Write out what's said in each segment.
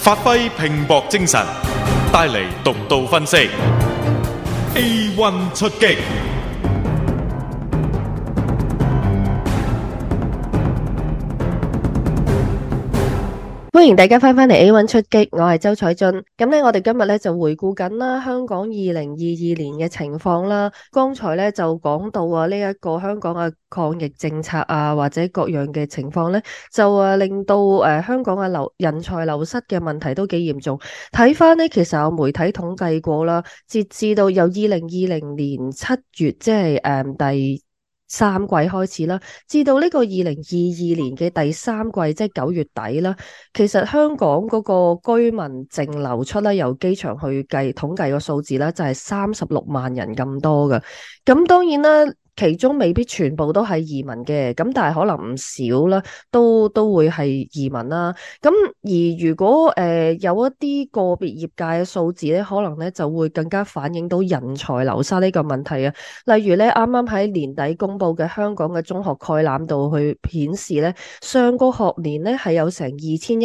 發揮拼搏精神，帶嚟獨到分析。A1 出擊。 歡迎大家翻嚟 A1 出擊，我係周彩俊。咁咧，我哋今日咧就回顧緊啦香港2022年嘅情況啦。剛才咧就講到啊，呢一個香港嘅抗疫政策啊，或者各樣嘅情況咧，就令到香港嘅人才流失嘅問題都幾嚴重。睇翻呢，其實有媒體統計過啦，截至到由2020年7月，即係第三季開始啦，至到呢個2022年嘅第三季，即係9月底啦。其實香港嗰個居民淨流出咧，由機場去統計個數字咧，就係36萬人咁多㗎。咁當然啦，其中未必全部都係移民嘅，咁但係可能唔少啦，都會係移民啦。咁而如果有一啲個別業界嘅數字咧，可能咧就會更加反映到人才流失呢個問題啊。例如咧，啱啱喺年底公布嘅香港嘅中學概覽度去顯示咧，上個學年咧係有成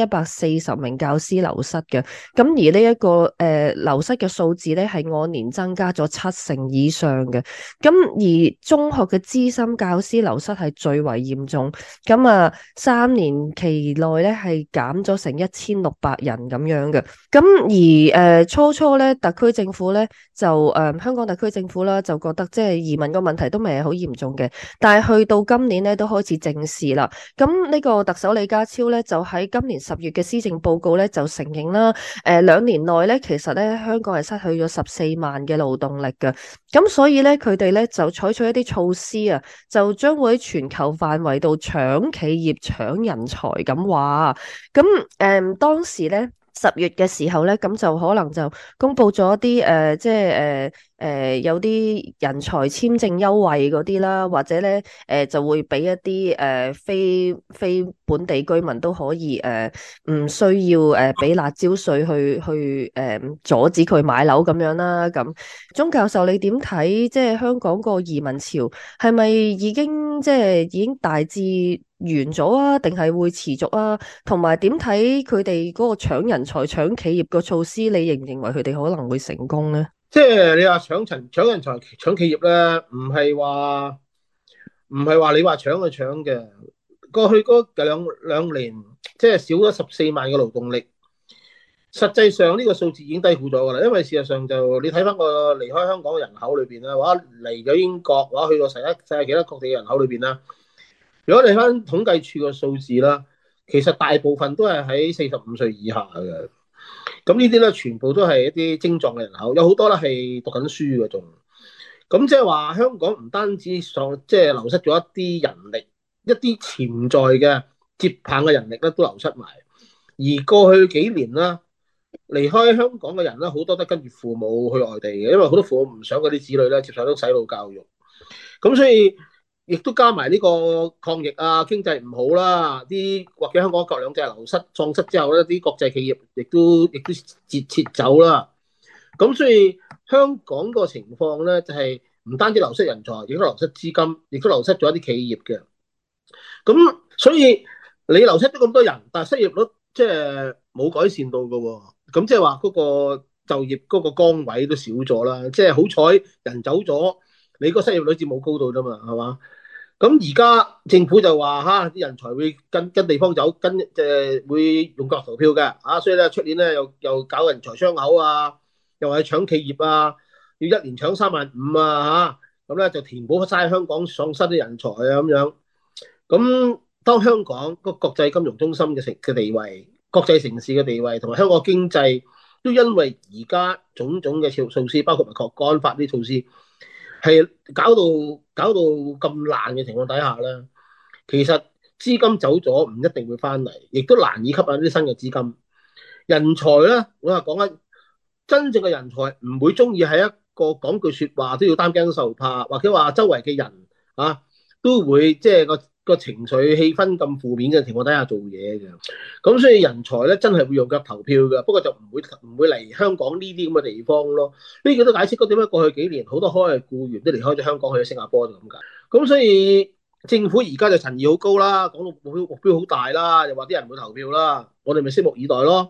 2140名教師流失嘅。咁而呢一個流失嘅數字咧係按年增加咗70%以上嘅。咁而中學嘅資深教師流失係最為嚴重，咁啊3年期內咧係減咗成1600人咁樣嘅。咁而初初咧特區政府咧就香港特區政府啦就覺得即係移民個問題都未係好嚴重嘅，但係去到今年咧都開始正視啦。咁呢個特首李家超咧就喺今年10月嘅施政報告咧就承認啦，2年內咧其實咧香港係失去咗14萬嘅勞動力嘅。咁所以咧佢哋咧就採取一啲措施啊，就將會喺全球範圍度搶企業、搶人才咁話。咁當時咧10月嘅時候咧，咁就可能就公布咗一啲即係有啲人才簽證優惠嗰啲啦，或者咧就會俾一啲非本地居民都可以唔需要俾辣椒稅去阻止佢買樓咁樣啦。咁鍾教授你點睇？即係香港個移民潮係咪已經大致完咗啊？定係會持續啊？同埋點睇佢哋嗰個搶人才、搶企業個措施？你認唔認為佢哋可能會成功呢？ 即係你話搶人才、搶企業咧，唔係話你話搶就搶嘅。過去嗰兩年，即係少咗14萬嘅勞動力。實際上呢個數字已經低估咗噶啦，因為事實上就你睇翻個離開香港嘅人口裏邊啦，或者嚟咗英國，或者去到世界其他各地嘅人口裏邊啦，如果你睇翻統計處嘅數字啦，其實大部分都係喺45歲以下嘅。咁呢啲咧全部都係一啲精壯嘅人口，有好多咧係讀緊書嘅仲。咁即係話香港唔單止即係流失咗一啲人力，一啲潛在嘅接棒嘅人力咧都流失埋。而過去幾年啦，離開香港嘅人咧好多都跟住父母去外地嘅，因為好多父母唔想嗰啲子女咧接受到洗腦教育。咁所以亦都加埋呢個抗疫啊，經濟唔好啦，或者香港各兩制流失喪失之後咧，啲國際企業亦都撤走啦。咁所以香港個情況咧，就係唔單止流失人才，亦都流失資金，亦都流失咗一啲企業嘅。咁所以你流失咗咁多人，但係失業率即係冇改善到㗎喎。咁即係話嗰個就業嗰個崗位都少咗啦。即係好彩人走咗，你個失業率至冇高到啫嘛，係嘛？咁而家政府就話啲人才會跟地方走，會用腳投票嘅，所以咧出年咧又搞人才窗口啊，又係搶企業啊，要一年搶35000啊咁咧就填補晒香港喪失啲人才啊咁樣。咁當香港個國際金融中心嘅地位、國際城市嘅地位同埋香港經濟都因為而家種種嘅措施，包括埋國安法啲措施，係搞到咁爛嘅情況底下咧，其實資金走咗唔一定會翻嚟，亦都難以吸引啲新嘅資金。人才咧，我話講緊真正嘅人才唔會中意喺一個講句説話都要擔驚受怕，或者話周圍嘅人都會即係個情緒氣氛咁負面嘅情況底下做嘢嘅。咁所以人才咧真係會用腳投票嘅，不過就唔會嚟香港呢啲咁嘅地方咯。呢個都解釋咗點解過去幾年好多海外僱員都離開咗香港去咗新加坡就咁解。咁所以政府而家就陳義好高啦，講到目標好大啦，又話啲人會投票啦，我哋咪拭目以待咯。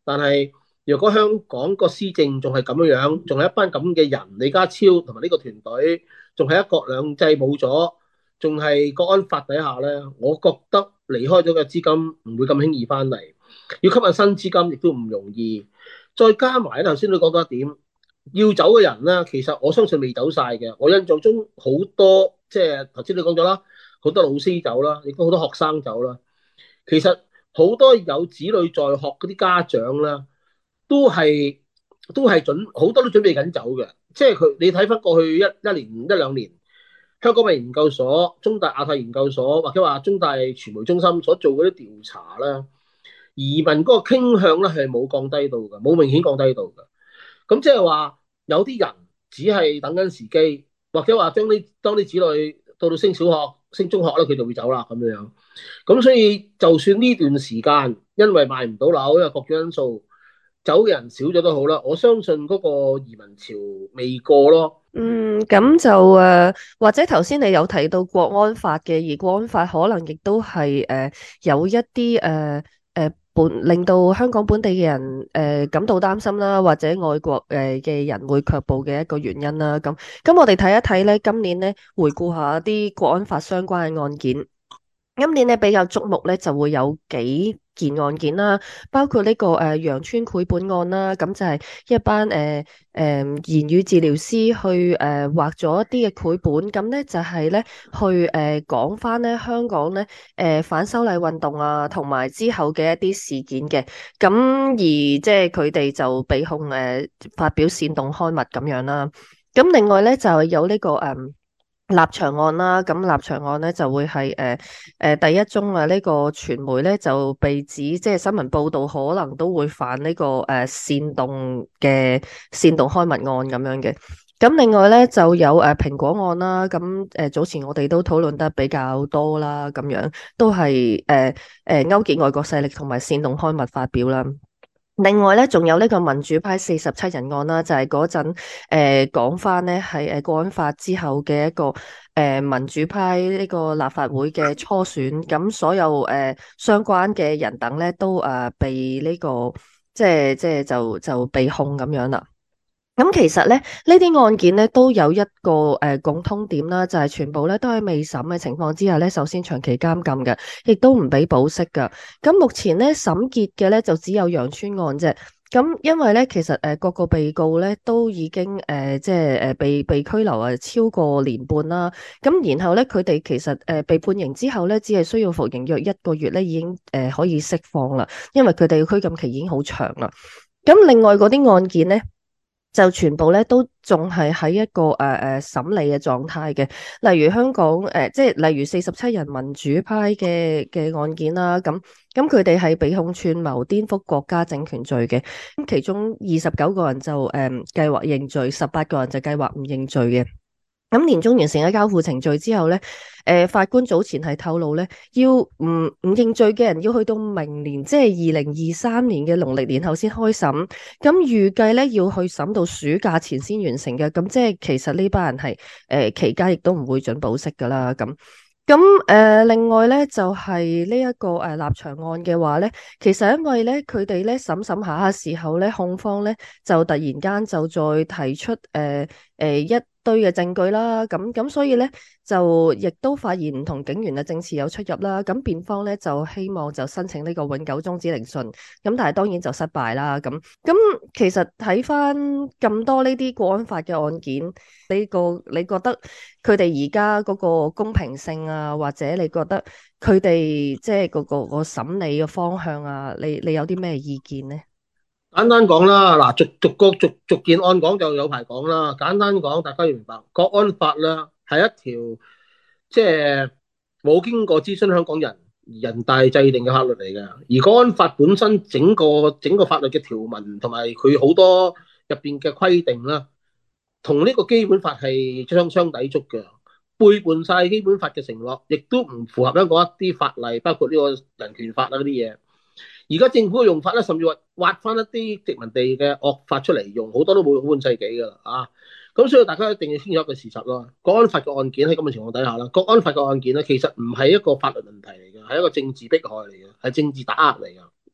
但係如果香港個施政仲係咁樣樣，仲係一班咁嘅人，李家超同埋呢個團隊，仲係一國兩制冇咗，仲係國安法底下咧，我覺得離開咗嘅資金唔會咁輕易翻嚟，要吸引新資金亦都唔容易。再加埋頭先你講到一點，要走嘅人咧，其實我相信未走晒嘅。我印象中好多，即係頭先你講咗啦，好多老師走啦，亦都好多學生走啦。其實好多有子女在學嗰啲家長啦，都係好多都準備緊走嘅。即係佢你睇翻過去一年一兩年，香港嘅研究所、中大亞太研究所或者話中大傳媒中心所做嗰啲調查啦，移民嗰個傾向咧係冇降低到嘅，冇明顯降低到嘅。咁即係話有啲人只係等緊時機，或者話當啲子女到升小學、升中學咧，佢就會走啦咁樣。咁所以就算呢段時間因為賣唔到樓，因為各種因素走嘅人少咗都好啦，我相信嗰個移民潮未過咯。 咁就或者頭先你有提到國安法嘅，而國安法可能亦都係有一啲令到香港本地嘅人感到擔心啦，或者外國嘅人會卻步嘅一個原因啦。咁我哋睇一睇咧，今年咧回顧下啲國安法相關嘅案件。今年咧比較矚目咧就會有幾件案件啦，包括呢個羊村繪本案啦，咁就係一班言語治療師去畫咗一啲嘅繪本，咁咧就係咧去講翻咧香港咧反修例運動啊，同埋之後嘅一啲事件嘅，咁而即係佢哋就被控發表煽動刊物咁樣啦，咁另外咧就有呢個立場案啦，咁立場案咧就會係第一宗啊，呢個傳媒咧就被指即係新聞報道可能都會犯呢個煽動刊物案咁樣嘅。咁另外咧就有蘋果案啦，咁早前我哋都討論得比較多啦，咁樣都係勾結外國勢力同埋煽動刊物發表啦。另外咧，仲有呢個民主派47人案啦，就係嗰陣講翻咧係國安法之後嘅一個民主派呢個立法會嘅初選，咁所有相關嘅人等咧都被呢個即係就被控咁樣啦。咁其實咧，呢啲案件咧都有一個共通點啦，就係全部咧都喺未審嘅情況之下咧，首先長期監禁嘅，亦都唔俾保釋噶。咁目前咧審結嘅咧就只有羊村案啫。咁因為咧其實各個被告咧都已經即係被拘留超過年半啦。咁然後咧佢哋其實被判刑之後咧，只係需要服刑約1個月咧，已經可以釋放啦。因為佢哋嘅拘禁期已經好長啦。咁另外嗰啲案件咧，就全部咧都仲係喺一個審理嘅狀態嘅，例如香港即係例如47人民主派嘅案件啦，咁佢哋係被控串謀顛覆國家政權罪嘅，咁其中29個人就計劃認罪，18個人就計劃唔認罪嘅。咁年終完成咗交付程序之後咧，法官早前係透露咧，要唔認罪嘅人要去到明年，即係2023年嘅農曆年後先開審。咁預計咧要去審到暑假前先完成嘅。咁即係其實呢班人係期間亦都唔會准保釋噶啦。咁另外咧就係呢一個立場案嘅話咧，其實因為咧佢哋咧審下嘅時候咧，控方咧就突然間就再提出一堆嘅證據啦，咁所以咧就亦都發現唔同警員嘅證詞有出入啦，咁辯方咧就希望就申請呢個永久終止聆訊，咁但係當然就失敗啦。咁其實睇翻咁多呢啲國安法嘅案件，你覺得佢哋而家嗰個公平性啊，或者你覺得佢哋即係個審理嘅方向啊，你有啲咩意見呢？ 簡單講啦，嗱，逐件案講就有排講啦。簡單講，大家要明白，國安法啦係一條即係冇經過諮詢香港人大制定嘅法律嚟嘅。而國安法本身整個法律嘅條文同埋佢好多入邊嘅規定啦，同呢個基本法係相抵觸嘅，背叛晒基本法嘅承諾，亦都唔符合香港一啲法例，包括呢個人權法啊嗰啲嘢。而家政府嘅用法咧，甚至話挖翻一啲殖民地嘅惡法出嚟用，好多都冇半世紀㗎啦啊！咁所以大家一定要清楚一個事實咯。國安法嘅案件喺咁嘅情況底下啦，國安法嘅案件咧，其實唔係一個法律問題嚟嘅，係一個政治迫害嚟嘅，係政治打壓嚟㗎。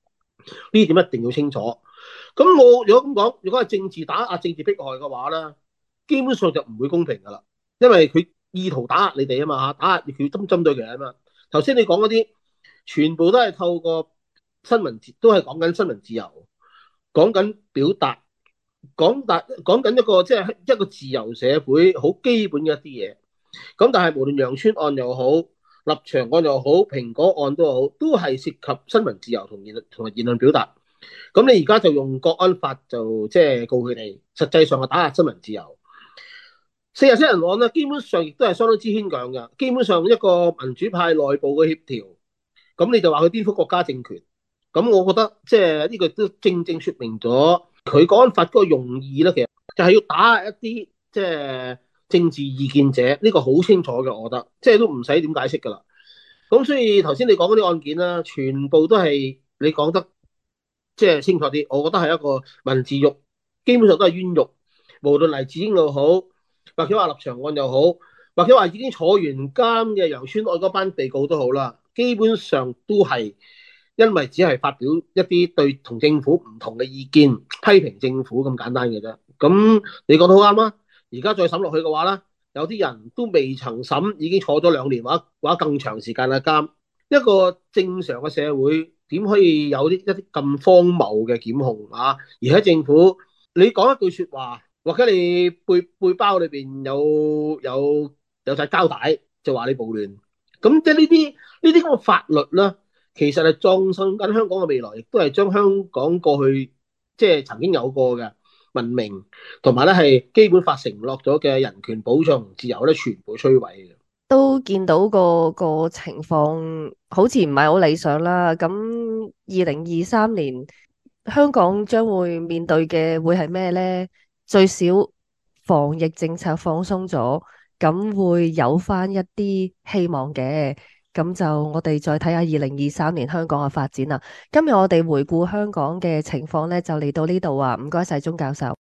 呢點一定要清楚。咁我如果咁講，如果係政治打壓、政治迫害嘅話咧，基本上就唔會公平噶啦，因為佢意圖打壓你哋啊嘛，打壓佢針對佢啊嘛。頭先你講嗰啲，全部都係透過新聞，都係講緊新聞自由，講緊表達，講緊一個即係一個自由社會好基本嘅一啲嘢。咁但係無論楊村案又好，立場案又好，蘋果案都好，都係涉及新聞自由同埋言論表達。咁你而家就用國安法就即係告佢哋，實際上係打壓新聞自由。47人案咧，基本上亦都係相當之牽強嘅。基本上一個民主派內部嘅協調，咁你就話佢顛覆國家政權。咁我覺得即係呢個都正正説明咗佢國安法嗰個用意咧，其實就係要打壓一啲即係政治意見者。呢個好清楚嘅，我覺得即係都唔使點解釋㗎啦。咁所以頭先你講嗰啲案件啦，全部都係你講得即係清楚啲。我覺得係一個文字獄，基本上都係冤獄。無論黎智英又好，或者話立場案又好，或者話已經坐完監嘅楊村案嗰班被告都好啦，基本上都係因為只係發表一啲對同政府唔同嘅意見，批評政府咁簡單嘅啫。咁你講得好啱啦。而家再審落去嘅話咧，有啲人都未曾審，已經坐咗2年或者更長時間嘅監。一個正常嘅社會點可以有一啲咁荒謬嘅檢控啊？而喺政府，你講一句説話，或者你背包裏邊有晒膠帶，就話你暴亂。咁即係呢啲咁嘅法律咧，其實係葬送緊香港嘅未來，亦都係將香港過去即係曾經有過嘅文明，同埋咧係基本法承諾咗嘅人權保障同自由咧，全部摧毀嘅。 都見到個情況好似唔係好理想啦。咁2023年香港將會面對嘅會係咩呢？最少防疫政策放鬆咗，咁會有翻一啲希望嘅。咁就我哋再睇下2023年香港嘅發展啦。今日我哋回顧香港嘅情況呢，就嚟到呢度啊。唔該晒鍾教授。